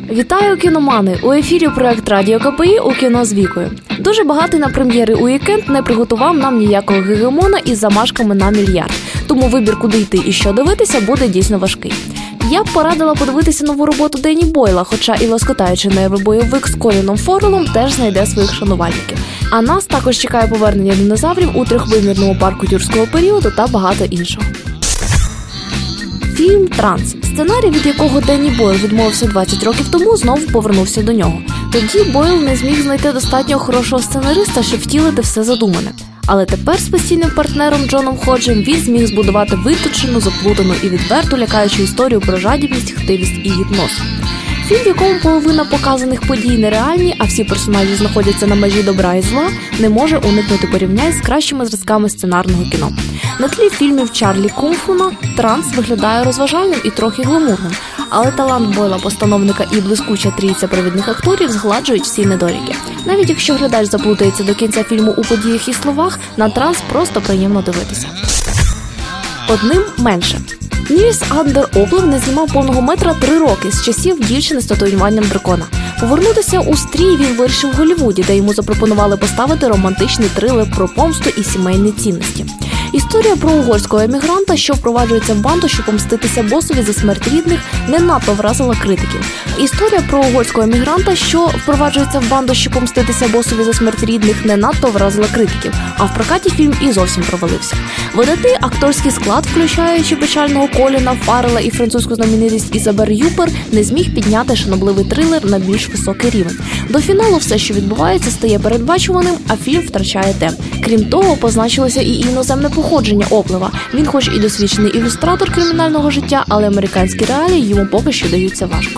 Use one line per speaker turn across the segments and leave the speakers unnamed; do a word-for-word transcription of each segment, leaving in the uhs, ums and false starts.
Вітаю, кіномани! У ефірі проект Радіо КПІ у кіно з Вікою. Дуже багатий на прем'єри уікенд не приготував нам ніякого гегемона із замашками на мільярд. Тому вибір, куди йти і що дивитися, буде дійсно важкий. Я б порадила подивитися нову роботу Денні Бойла, хоча і лоскотаючий нервобойовик з Коліном Форелом теж знайде своїх шанувальників. А нас також чекає повернення динозаврів у трьохвимірному парку юрського періоду та багато іншого. Фільм «Транс». Сценарій, від якого Денні Бойл відмовився двадцять років тому, знову повернувся до нього. Тоді Бойл не зміг знайти достатньо хорошого сценариста, щоб втілити все задумане. Але тепер з постійним партнером Джоном Ходжем він зміг збудувати виточену, заплутану і відверто лякаючу історію про жадібність, хтивість і гіпноз. Фільм, в якому половина показаних подій нереальні, а всі персонажі знаходяться на межі добра і зла, не може уникнути порівнянь з кращими зразками сценарного кіно. На тлі фільмів Чарлі Кунфуна «Транс» виглядає розважальним і трохи гламурним, але талант Бойла-постановника і блискуча трійця провідних акторів згладжують всі недоліки. Навіть якщо глядач заплутається до кінця фільму у подіях і словах, на «Транс» просто приємно дивитися. Одним менше. Нільс Андер Оплев не знімав повного метра три роки з часів «Дівчини з татуюванням дракона». Повернутися у стрій він вирішив в Голлівуді, де йому запропонували поставити романтичний трилер про помсту і сімейні цінності. Історія про угорського емігранта, що впроваджується в банду, щоб помститися босові за смерть рідних, не надто вразила критиків. Історія про угорського емігранта, що впроваджується в банду, щоб помститися босові за смерть рідних, не надто вразила критиків, а в прокаті фільм і зовсім провалився. Видатний акторський склад, включаючи печального Коліна Фаррела і французьку знаменитість Ізабель Юпер, не зміг підняти шанобливий трилер на більш високий рівень. До фіналу все, що відбувається, стає передбачуваним, а фільм втрачає темп. Крім того, позначилося і іноземне походження Оплева. Він хоч і досвідчений ілюстратор кримінального життя, але американські реалії йому поки що даються важко.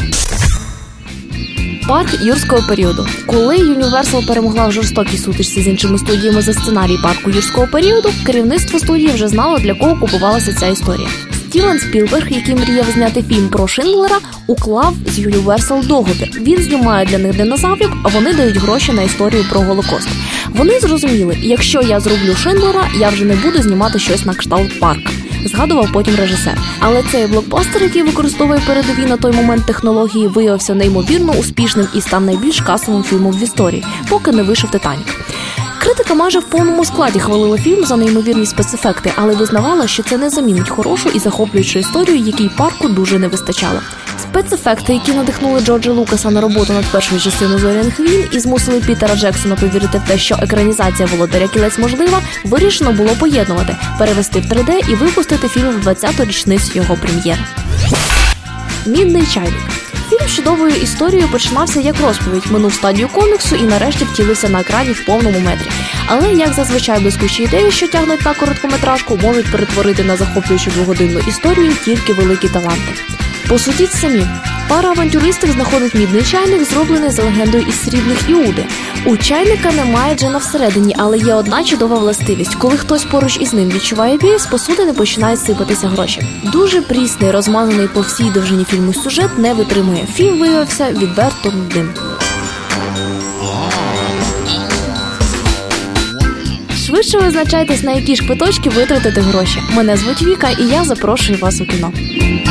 Парк юрського періоду. Коли Universal перемогла в жорстокій сутичці з іншими студіями за сценарій парку юрського періоду, керівництво студії вже знало, для кого купувалася ця історія. Стівен Спілберг, який мріяв зняти фільм про Шиндлера, уклав з Universal договір. Він знімає для них динозаврів, а вони дають гроші на історію про Голокост. Вони зрозуміли, якщо я зроблю Шиндлера, я вже не буду знімати щось на кшталт парка. Згадував потім режисер. Але цей блокбастер, який використовує передові на той момент технології, виявився неймовірно успішним і став найбільш касовим фільмом в історії, поки не вийшов «Титанік». Критика майже в повному складі хвалила фільм за неймовірні спецефекти, але визнавала, що це не замінить хорошу і захоплюючу історію, якій парку дуже не вистачало. Спецефекти, які надихнули Джорджа Лукаса на роботу над першою частиною «Зоряних війн» і змусили Пітера Джексона повірити в те, що екранізація «Володаря кілець» можлива, вирішено було поєднувати, перевести в три де і випустити фільм в двадцяту річницю його прем'єри. «Мідний чайник». Фільм з чудовою історією починався як розповідь, минув стадію коміксу і нарешті втілився на екрані в повному метрі. Але, як зазвичай, блискучі ідеї, що тягнуть на короткометражку, можуть перетворити на захоплюючу двогодинну історію тільки великі таланти. Посудіть самі. Пара авантюристів знаходить мідний чайник, зроблений за легендою із срібних Іуди. У чайника немає джина всередині, але є одна чудова властивість. Коли хтось поруч із ним відчуває біль, з посудини починають сипатися гроші. Дуже прісний, розмазаний по всій довжині фільму сюжет не витримує. Фільм виявився відверто нудним. Швидше визначайтесь, на які ж квиточки витратити гроші. Мене звуть Віка, і я запрошую вас у кіно.